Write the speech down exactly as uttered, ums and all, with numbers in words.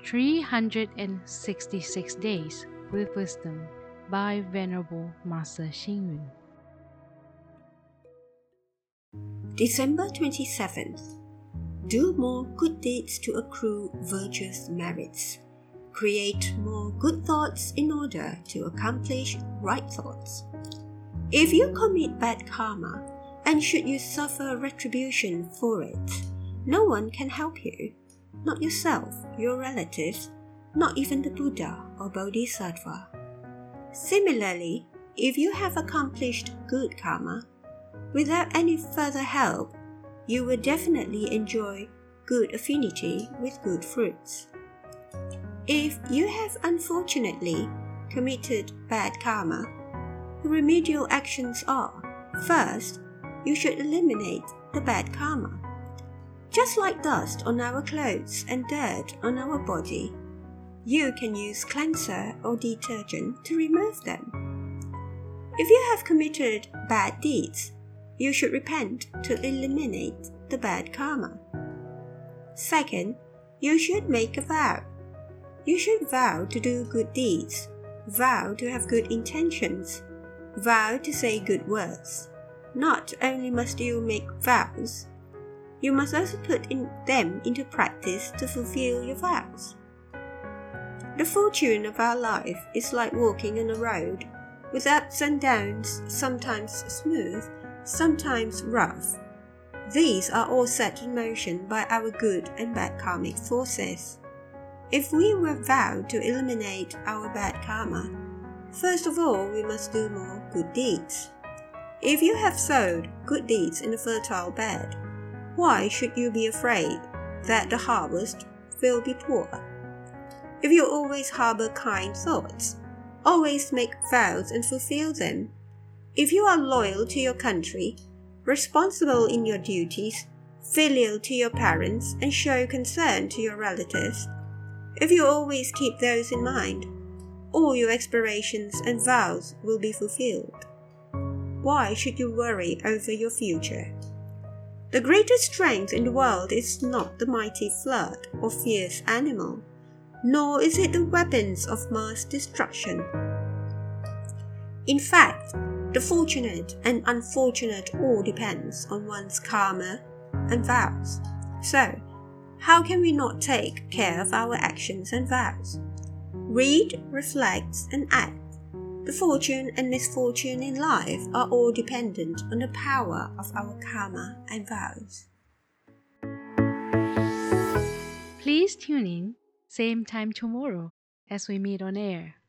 three hundred sixty-six Days with Wisdom by Venerable Master Xing Yun. December twenty-seventh. Do more good deeds to accrue virtuous merits. Create more good thoughts in order to accomplish right thoughts. If you commit bad karma, and should you suffer retribution for it, no one can help you. Not yourself, your relatives, not even the Buddha or Bodhisattva. Similarly, if you have accomplished good karma, without any further help, you will definitely enjoy good affinity with good fruits. If you have unfortunately committed bad karma, the remedial actions are: first, you should eliminate the bad karma. Just like dust on our clothes and dirt on our body, you can use cleanser or detergent to remove them. If you have committed bad deeds, you should repent to eliminate the bad karma. Second, you should make a vow. You should vow to do good deeds, vow to have good intentions, vow to say good words. Not only must you make vows, you must also put in them into practice to fulfill your vows. The fortune of our life is like walking on a road, with ups and downs, sometimes smooth, sometimes rough. These are all set in motion by our good and bad karmic forces. If we were vowed to eliminate our bad karma, first of all we must do more good deeds. If you have sowed good deeds in a fertile bed, why should you be afraid that the harvest will be poor? If you always harbor kind thoughts, always make vows and fulfill them, if you are loyal to your country, responsible in your duties, filial to your parents, and show concern to your relatives, if you always keep those in mind, all your aspirations and vows will be fulfilled. Why should you worry over your future? The greatest strength in the world is not the mighty flood or fierce animal, nor is it the weapons of mass destruction. In fact, the fortunate and unfortunate all depends on one's karma and vows. So, how can we not take care of our actions and vows? Read, reflect, and act. The fortune and misfortune in life are all dependent on the power of our karma and vows. Please tune in, same time tomorrow as we meet on air.